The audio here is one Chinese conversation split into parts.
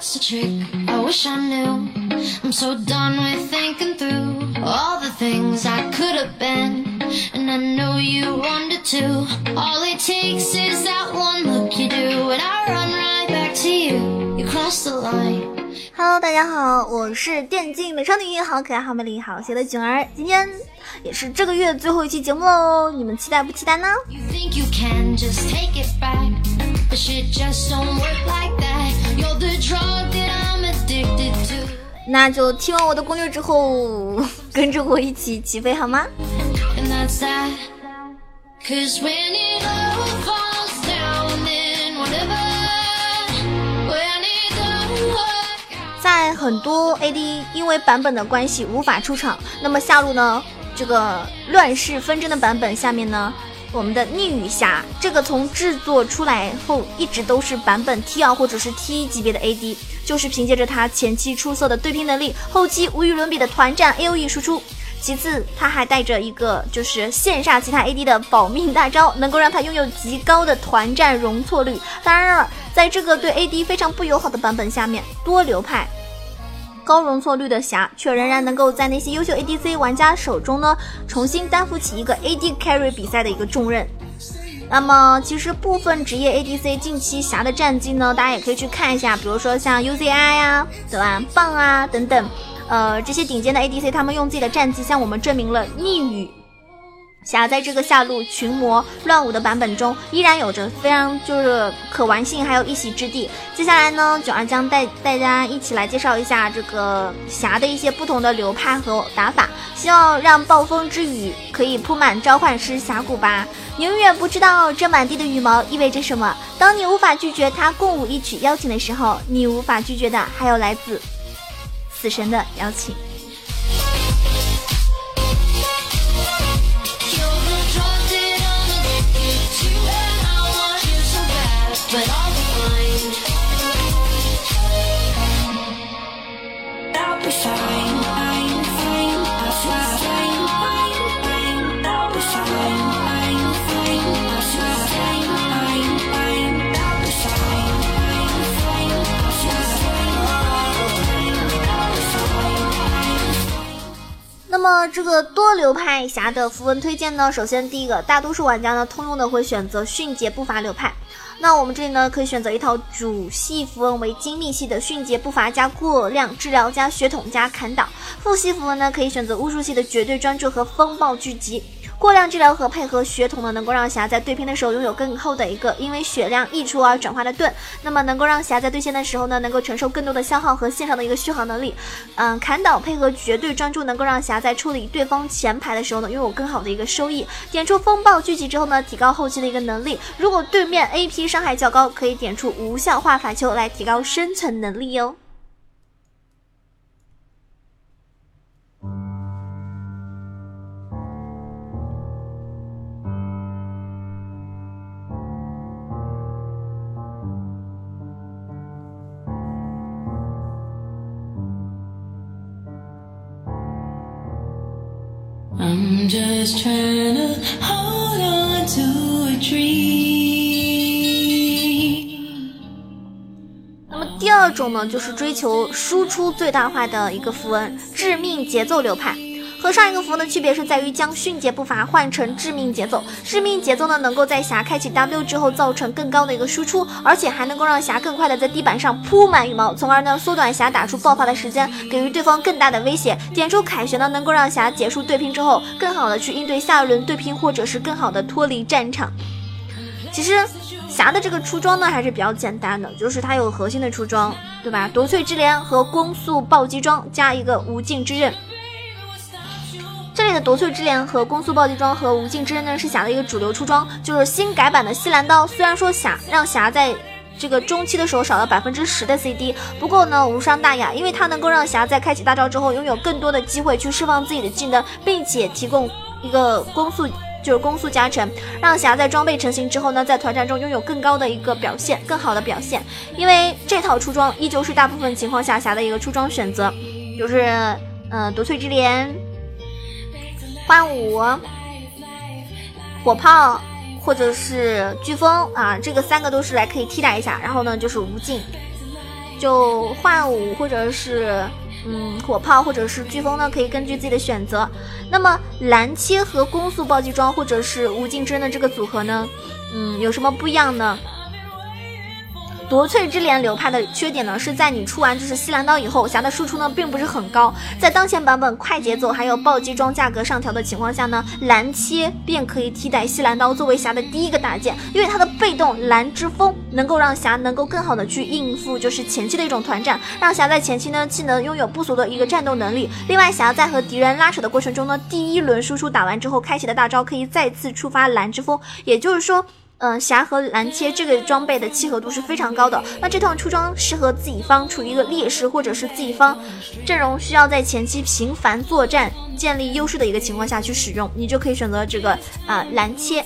What's the trick? I wish I knew. I'm so done with thinking through all the things I could have been, and I know you wanted to. All it takes is that one look you do, and I run right back to you. You cross the line.Hello， 大家好，我是电竞美少女，好可爱，好美丽，好邪的囧儿。今天也是这个月最后一期节目喽，你们期待不期待呢？那就听完我的攻略之后，跟着我一起起飞好吗？在很多 AD 因为版本的关系无法出场，那么下路呢，这个乱世纷争的版本下面呢，我们的逆雨侠这个从制作出来后一直都是版本 T2 或者是 T1 级别的 AD， 就是凭借着他前期出色的对拼能力，后期无与伦比的团战 AOE 输出。其次他还带着一个就是羡煞其他 AD 的保命大招，能够让他拥有极高的团战容错率。当然了，在这个对 AD 非常不友好的版本下面，多流派高容错率的侠却仍然能够在那些优秀 ADC 玩家手中呢，重新担负起一个 AD carry 比赛的一个重任。那么其实部分职业 ADC 近期侠的战绩呢，大家也可以去看一下，比如说像 UZI 啊，对吧，棒啊等等，这些顶尖的 ADC 他们用自己的战绩向我们证明了逆雨侠在这个下路群魔乱舞的版本中依然有着非常就是可玩性还有一席之地。接下来呢，囧儿将带大家一起来介绍一下这个侠的一些不同的流派和打法，希望让暴风之雨可以铺满召唤师峡谷吧。你永远不知道这满地的羽毛意味着什么，当你无法拒绝他共舞一曲邀请的时候，你无法拒绝的还有来自死神的邀请。But I'll be fine. I'll be fine. I'm fine. I'll fly fine. I'll be fine. I'm fine. I'll fly fine. I'm fine. I'll be fine. I'm fine. I'll fly fine. I'll be fine. 那么这个多流派侠的符文推荐呢，首先第一个，大多数玩家呢通用的会选择迅捷步伐流派。那我们这里呢，可以选择一套主系符文为精密系的迅捷步伐加过量治疗加血统加砍倒，副系符文呢可以选择巫术系的绝对专注和风暴聚集。过量治疗和配合血统呢，能够让侠在对拼的时候拥有更厚的一个因为血量溢出而转化的盾，那么能够让侠在对线的时候呢，能够承受更多的消耗和线上的一个续航能力。砍倒配合绝对专注，能够让侠在处理对方前排的时候呢，拥有更好的一个收益。点出风暴聚集之后呢，提高后期的一个能力。如果对面 AP 伤害较高，可以点出无效化法球来提高生存能力哦。 I'm just trying to hold on to a dream。 那么第二种呢，就是追求输出最大化的一个符文，致命节奏流派。和上一个符文的区别是在于将迅捷步伐换成致命节奏。致命节奏呢，能够在侠开启 W 之后造成更高的一个输出，而且还能够让侠更快的在地板上铺满羽毛，从而呢缩短侠打出爆发的时间，给予对方更大的威胁。点出凯旋呢，能够让侠结束对拼之后，更好的去应对下一轮对拼，或者是更好的脱离战场。其实侠的这个出装呢还是比较简单的，就是它有核心的出装，对吧？夺萃之镰和攻速暴击装加一个无尽之刃。这里的夺萃之镰和攻速暴击装和无尽之刃呢是侠的一个主流出装，就是新改版的西兰刀。虽然说让侠在这个中期的时候少了 10% 的 CD， 不过呢无伤大雅，因为它能够让侠在开启大招之后拥有更多的机会去释放自己的技能，并且提供一个攻速加成，让侠在装备成型之后呢，在团战中拥有更高的一个表现，更好的表现。因为这套出装依旧是大部分情况下侠的一个出装选择，就是夺萃之镰、幻舞、火炮或者是飓风啊，这个3个都是来可以替代一下。然后呢就是无尽。 就幻舞或者是火炮或者是飓风呢，可以根据自己的选择。那么蓝切和攻速暴击装或者是无尽之刃的这个组合呢，有什么不一样呢？夺萃之镰流派的缺点呢，是在你出完就是西蓝刀以后，匣的输出呢并不是很高。在当前版本快节奏还有暴击装价格上调的情况下呢，蓝切便可以替代西蓝刀作为匣的第一个大件，因为它的被动蓝之风能够让匣能够更好的去应付就是前期的一种团战，让匣在前期呢既能拥有不俗的一个战斗能力。另外匣在和敌人拉扯的过程中呢，第一轮输出打完之后开启的大招可以再次触发蓝之风，也就是说匣和蓝切这个装备的契合度是非常高的。那这套出装适合自己方处于一个劣势或者是自己方阵容需要在前期频繁作战建立优势的一个情况下去使用，你就可以选择这个蓝切。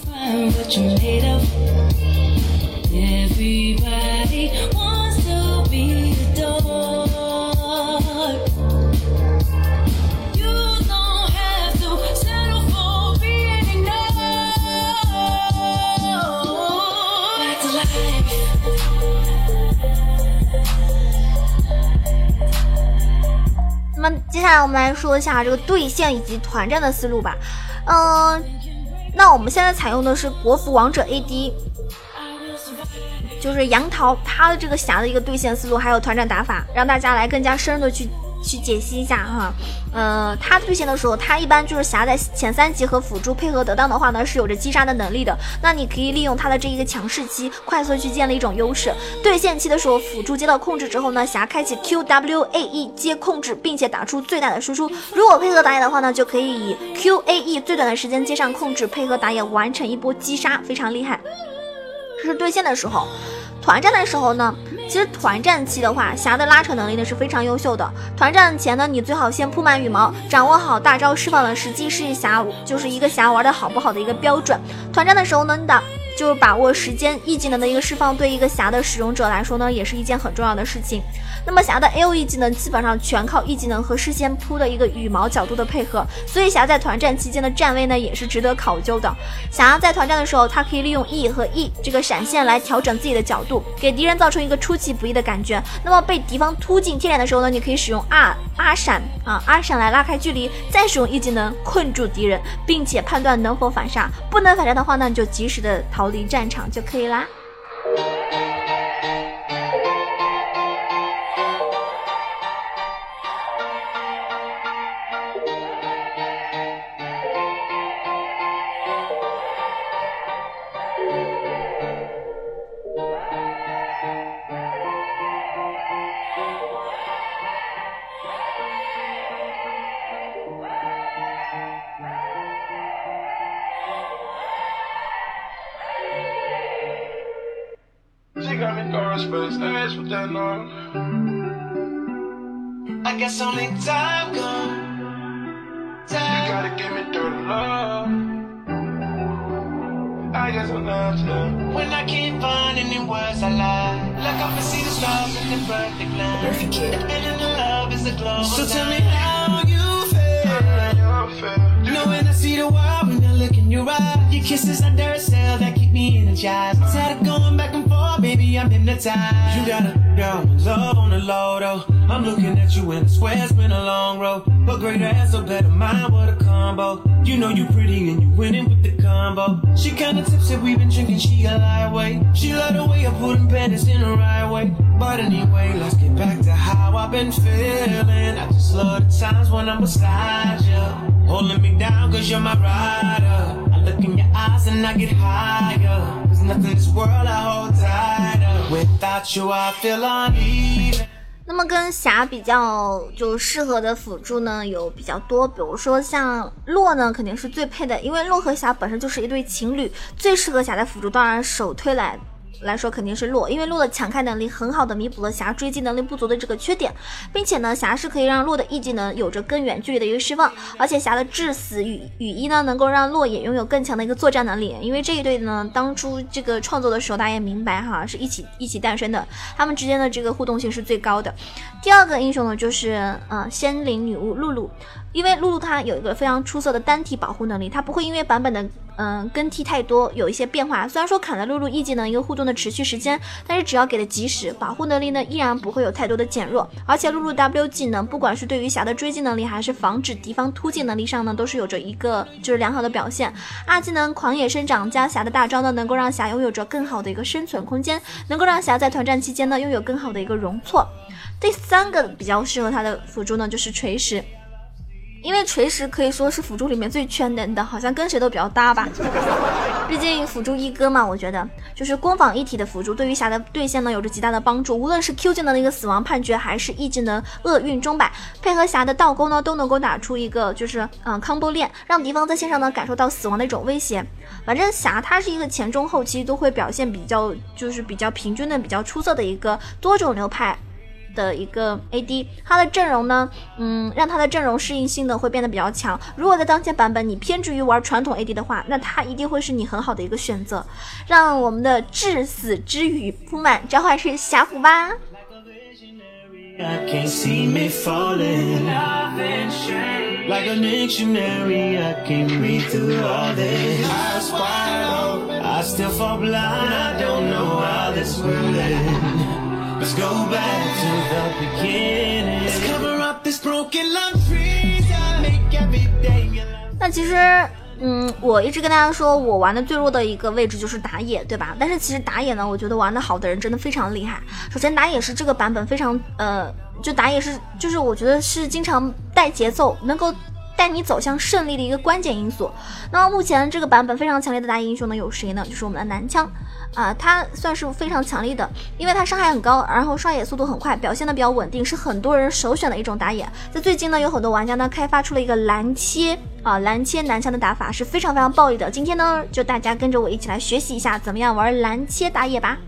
那么接下来我们来说一下这个对线以及团战的思路吧。那我们现在采用的是国服王者 AD， 就是杨桃他的这个匣的一个对线思路还有团战打法，让大家来更加深入的去解析一下哈。他对线的时候，他一般就是匣在前3级和辅助配合得当的话呢，是有着击杀的能力的。那你可以利用他的这一个强势期，快速去建立一种优势。对线期的时候，辅助接到控制之后呢，匣开启 QWAE 接控制，并且打出最大的输出。如果配合打野的话呢，就可以以 QAE 最短的时间接上控制，配合打野完成一波击杀，非常厉害。这是对线的时候。团战的时候呢，其实团战期的话，匣的拉扯能力呢是非常优秀的。团战前呢，你最好先铺满羽毛，掌握好大招释放的时机，是匣就是一个匣玩的好不好的一个标准。团战的时候呢，你就是把握时间，E技能的一个释放，对一个匣的使用者来说呢，也是一件很重要的事情。那么匣的 AOE 技能基本上全靠 E 技能和事先铺的一个羽毛角度的配合，所以匣在团战期间的站位呢也是值得考究的。匣在团战的时候，它可以利用 E 和 E 这个闪现来调整自己的角度，给敌人造成一个出其不意的感觉。那么被敌方突进贴脸的时候呢，你可以使用阿闪来拉开距离，再使用 E 技能困住敌人，并且判断能否反杀。不能反杀的话呢，你就及时的逃离战场就可以啦。 I guess only time gone. You gotta give me dirty love. I guess I'm not you. When I can't find any words I lie, look up and see the stars in the perfect line. Perfect kid. The feeling of love is a global. So tell me how you feel. Knowing I see the world when I look in your eyes. Your kisses are dirt cell that keep me energized. Tired of going back and forth, baby, I'm hypnotized. You got a girl with love on the low though. I'm looking at you and I swear it's been a long road. But greater ass or better mind, what a combo. You know you pretty and you winning with the combo. She kinda tipsy, we been drinking, she a lightweight. She love the way I put them panties in the right way. But anyway, let's get back to how I've been feeling. I just love the times when I'm beside you, holding me down cause you're my rider. I look in your eyes and I get higher. There's nothing in this world I hold tighter. Without you I feel uneven. 那么跟匣比较就适合的辅助呢有比较多，比如说像洛呢肯定是最配的，因为洛和匣本身就是一对情侣，最适合匣的辅助当然首推来说肯定是洛，因为洛的强开能力很好的弥补了匣追击能力不足的这个缺点，并且呢匣是可以让洛的 E 技能有着更远距离的一个释放，而且匣的致死羽翼呢能够让洛也拥有更强的一个作战能力，因为这一对呢当初这个创作的时候大家也明白哈，是一起诞生的，他们之间的这个互动性是最高的。第二个英雄呢就是仙灵女巫露露，因为露露她有一个非常出色的单体保护能力，她不会因为版本的更替太多有一些变化，虽然说砍了露露 E 技能一个互动的持续时间，但是只要给的及时，保护能力呢依然不会有太多的减弱。而且露露 W 技能不管是对于霞的追击能力还是防止敌方突进能力上呢，都是有着一个就是良好的表现。二技能狂野生长加霞的大招呢，能够让霞拥有着更好的一个生存空间，能够让霞在团战期间呢拥有更好的一个容错。第三个比较适合他的辅助呢就是锤石，因为锤石可以说是辅助里面最全能的，好像跟谁都比较搭吧。毕竟辅助一哥嘛，我觉得就是攻防一体的辅助，对于霞的对线呢有着极大的帮助。无论是 Q 技能的一个死亡判决，还是 E 技能厄运钟摆，配合霞的倒钩呢，都能够打出一个就是combo 链，让敌方在线上呢感受到死亡的一种威胁。反正霞它是一个前中后期都会表现比较平均的、比较出色的一个多种流派的一个 AD， 他的阵容呢，让他的阵容适应性呢会变得比较强。如果在当前版本你偏执于玩传统 AD 的话，那他一定会是你很好的一个选择。让我们的至死之语铺满召唤师霞府吧。 I can't see me falling like a dictionary. I can't read through all this. Eyes wide open, I still fall blind. I don't know how this will end. Let's go back to the beginning. Let's cover up this broken love trees. I make every day. 那其实我一直跟大家说我玩的最弱的一个位置就是打野，对吧？但是其实打野呢，我觉得玩的好的人真的非常厉害。首先打野是这个版本非常就打野是就是我觉得是经常带节奏，能够带你走向胜利的一个关键因素。那么目前这个版本非常强烈的打野英雄呢有谁呢？就是我们的男枪他算是非常强力的，因为他伤害很高，然后刷野速度很快，表现的比较稳定，是很多人首选的一种打野。在最近呢，有很多玩家呢开发出了一个蓝切男枪的打法，是非常非常暴力的。今天呢，就大家跟着我一起来学习一下怎么样玩蓝切打野吧。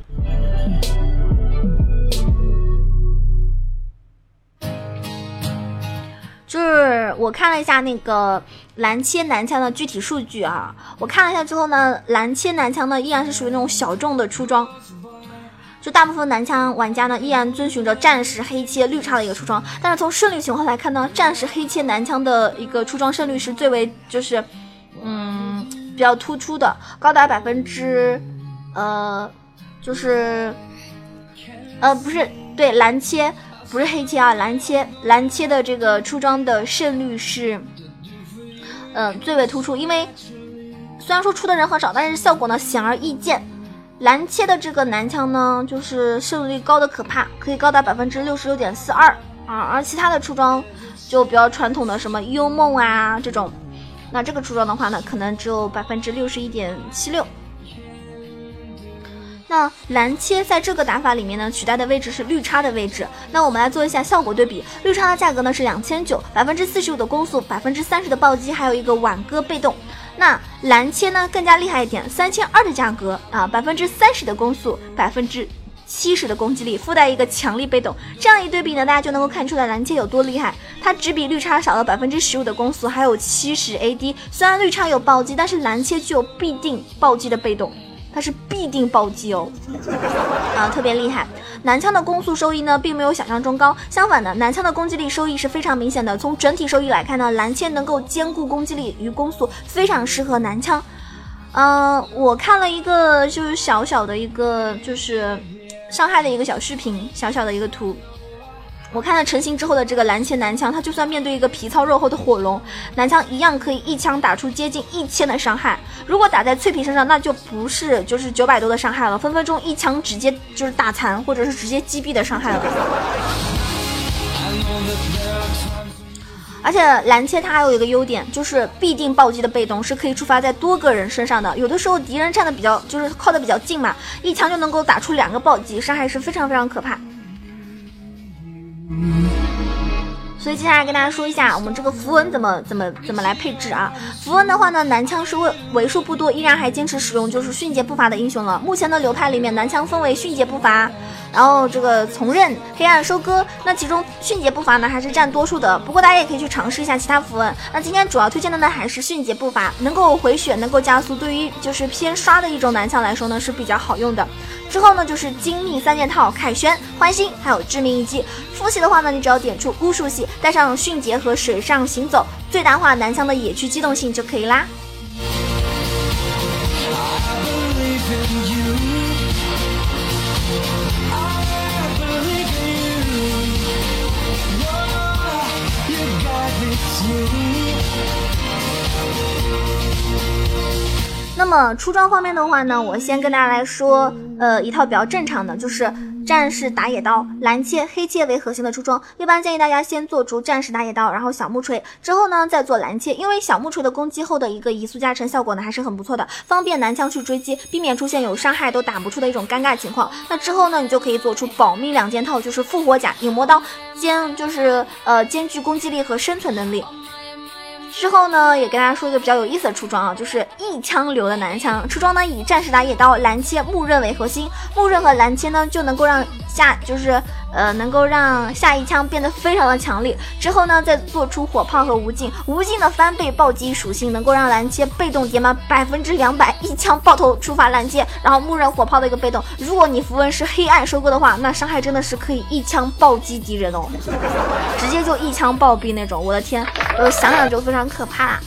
就是我看了一下那个蓝切男枪的具体数据啊，我看了一下之后呢，蓝切男枪呢依然是属于那种小众的出装，就大部分男枪玩家呢依然遵循着战士、黑切、绿叉的一个出装，但是从胜率情况来看呢，战士、黑切男枪的一个出装胜率是最为就是比较突出的，高达蓝切。不是黑切啊，蓝切的这个出装的胜率是最为突出，因为虽然说出的人很少，但是效果呢显而易见。蓝切的这个男枪呢，就是胜率高的可怕，可以高达 66.42%而其他的出装就比较传统的什么幽梦啊这种，那这个出装的话呢，可能只有 61.76%。那蓝切在这个打法里面呢，取代的位置是绿叉的位置。那我们来做一下效果对比，绿叉的价格呢是2900， 45%的攻速， 30%的暴击，还有一个挽歌被动。那蓝切呢更加厉害一点，3200的价格30%的攻速， 70%的攻击力，附带一个强力被动。这样一对比呢，大家就能够看出来蓝切有多厉害。它只比绿叉少了 15% 的攻速，还有70 AD。虽然绿叉有暴击，但是蓝切具有必定暴击的被动，它是必定暴击哦，特别厉害。男枪的攻速收益呢，并没有想象中高，相反的，男枪的攻击力收益是非常明显的。从整体收益来看呢，蓝切能够兼顾攻击力与攻速，非常适合男枪。我看了一个就是小小的一个就是伤害的一个小视频，小小的一个图。我看了成型之后的这个蓝切男枪，他就算面对一个皮糙肉厚的火龙，男枪一样可以一枪打出接近1000的伤害。如果打在脆皮身上，那就不是就是900多的伤害了，分分钟一枪直接就是打残，或者是直接击毙的伤害了。而且蓝切它还有一个优点，就是必定暴击的被动是可以触发在多个人身上的。有的时候敌人站的比较就是靠的比较近嘛，一枪就能够打出2个暴击，伤害是非常非常可怕。所以接下来跟大家说一下我们这个符文怎么来配置啊。符文的话呢，男枪是为数不多依然还坚持使用就是迅捷步伐的英雄了。目前的流派里面，男枪分为迅捷步伐，然后这个从刃、黑暗收割，那其中迅捷步伐呢还是占多数的，不过大家也可以去尝试一下其他符文。那今天主要推荐的呢还是迅捷步伐，能够回血，能够加速，对于就是偏刷的一种男枪来说呢是比较好用的。之后呢就是精密3件套、凯旋、欢欣还有致命一击。复习的话呢，你只要点出巫术系，带上迅捷和水上行走，最大化男枪的野区机动性就可以啦。 么出装方面的话呢，我先跟大家来说一套比较正常的，就是战士打野刀、蓝切、黑切为核心的出装。一般建议大家先做出战士打野刀，然后小木锤，之后呢再做蓝切，因为小木锤的攻击后的一个移速加成效果呢还是很不错的，方便男枪去追击，避免出现有伤害都打不出的一种尴尬情况。那之后呢，你就可以做出保命2件套，就是复活甲、影魔刀，兼具攻击力和生存能力。之后呢，也跟大家说一个比较有意思的出装啊，就是一枪流的男枪出装呢，以战士打野刀、蓝切、木刃为核心，木刃和蓝切呢就能够让下一枪变得非常的强力。之后呢，再做出火炮和无尽的翻倍暴击属性，能够让蓝切被动叠满200%，一枪爆头触发蓝切，然后木刃火炮的一个被动。如果你符文是黑暗收割的话，那伤害真的是可以一枪暴击敌人哦，直接就一枪暴毙那种。我的天，我想想就非常可怕。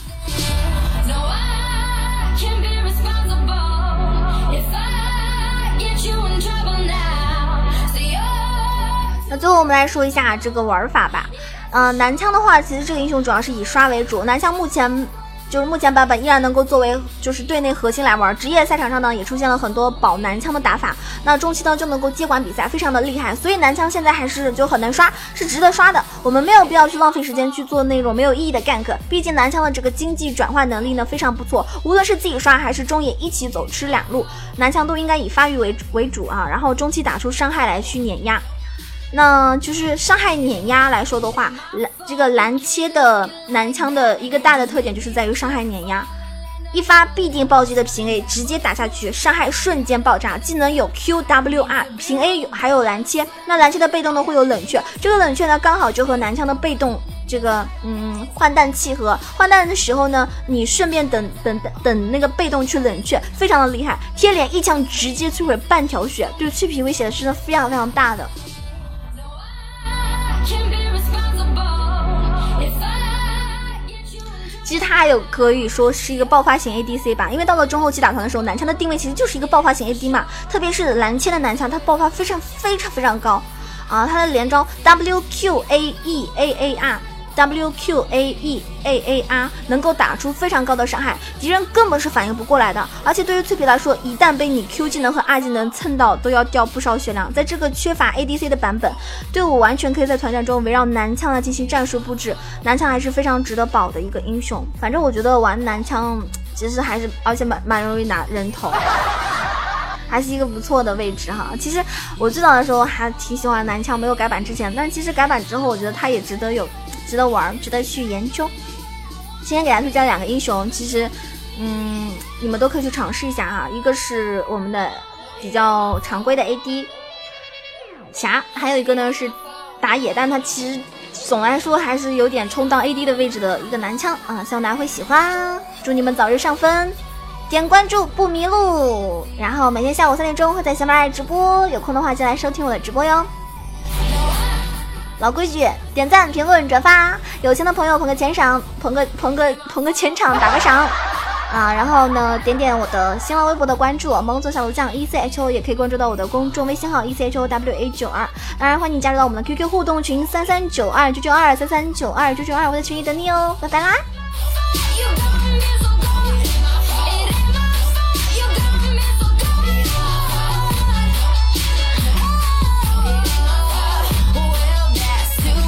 那最后我们来说一下这个玩法吧。男枪的话，其实这个英雄主要是以刷为主，男枪目前版本依然能够作为就是队内核心来玩，职业赛场上呢也出现了很多保男枪的打法，那中期呢就能够接管比赛，非常的厉害，所以男枪现在还是就很能刷，是值得刷的。我们没有必要去浪费时间去做那种没有意义的 gank， 毕竟男枪的这个经济转换能力呢非常不错，无论是自己刷还是中野一起走吃两路，男枪都应该以发育为主啊，然后中期打出伤害来去碾压。那就是伤害碾压来说的话，这个蓝切的男枪的一个大的特点就是在于伤害碾压，一发必定暴击的平 A 直接打下去，伤害瞬间爆炸，技能有 QWR， 平 A 还有蓝切。那蓝切的被动呢会有冷却，这个冷却呢刚好就和男枪的被动这个换弹契合，换弹的时候呢你顺便等那个被动去冷却，非常的厉害，贴脸一枪直接摧毁半条血，对脆皮威胁是非常非常大的。其实它还有可以说是一个爆发型 ADC 吧，因为到了中后期打团的时候，男枪的定位其实就是一个爆发型 AD 嘛，特别是蓝切的男枪，它爆发非常高啊，它的连招 WQAEAAR 能够打出非常高的伤害，敌人根本是反应不过来的。而且对于脆皮来说，一旦被你 Q 技能和 R 技能蹭到，都要掉不少血量。在这个缺乏 ADC 的版本，队伍完全可以在团战中围绕男枪来进行战术布置，男枪还是非常值得保的一个英雄。反正我觉得玩男枪其实还是，而且蛮容易拿人头，还是一个不错的位置哈。其实我最早的时候还挺喜欢男枪，没有改版之前，但是其实改版之后，我觉得它也值得玩，值得去研究。今天给大家推荐2个英雄，其实你们都可以去尝试一下哈。一个是我们的比较常规的 AD 侠，还有一个呢是打野，但他其实总来说还是有点充当 AD 的位置的一个男枪啊，希望大家会喜欢。祝你们早日上分，点关注不迷路，然后每天下午3点钟会在喜马拉雅直播，有空的话就来收听我的直播哟。老规矩，点赞、评论、转发，有钱的朋友捧个钱赏，捧个钱场，打个赏啊！然后呢，点点我的新浪微博的关注，萌总小鹿酱 ECHO， 也可以关注到我的公众微信号 ECHOWA92。当然，欢迎你加入到我们的 QQ 互动群33929923392992，我在群里等你哦，拜拜啦！